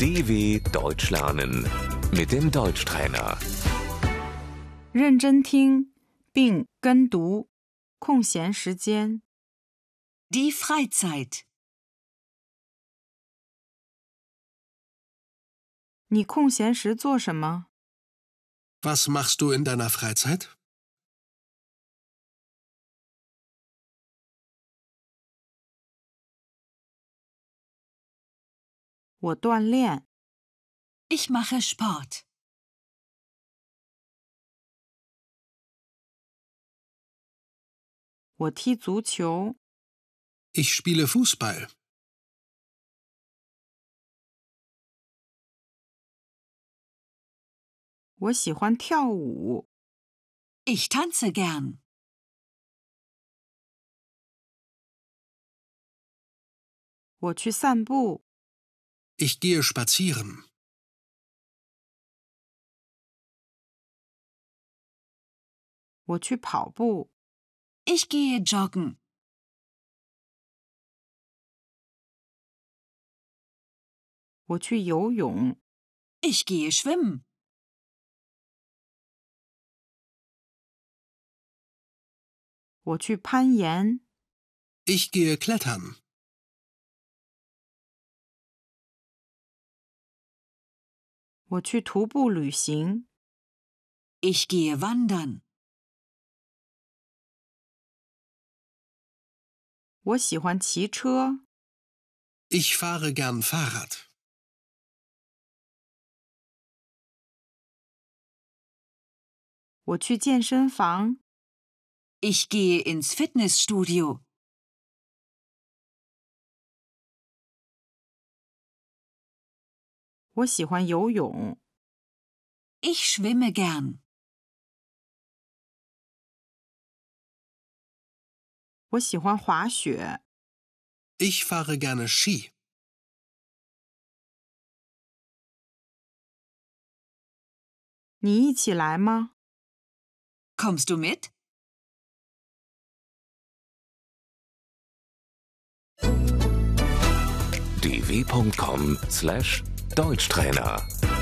DW Deutsch lernen mit dem Deutschtrainer. 认真听并跟读，空闲时间。 Die Freizeit. 你空闲时做什么？ Was machst du in deiner Freizeit? 我锻炼。 Ich mache Sport. 我踢足球。 Ich spiele Fußball. 我喜欢跳舞。 Ich tanze gern. 我去散步。 Ich gehe spazieren. 我去跑步。 Ich gehe joggen. 我去游泳。 Ich gehe schwimmen. 我去攀岩。 Ich gehe klettern. 我去徒步旅行。 Ich gehe wandern. 我喜欢骑车。 Ich fahre gern Fahrrad. 我去健身房。 Ich gehe ins Fitnessstudio. 我喜欢游泳。 Ich schwimme gern. 我喜欢滑雪。 Ich fahre gerne Ski. 你一起来吗？ Kommst du mit? dw.com/Deutschtrainer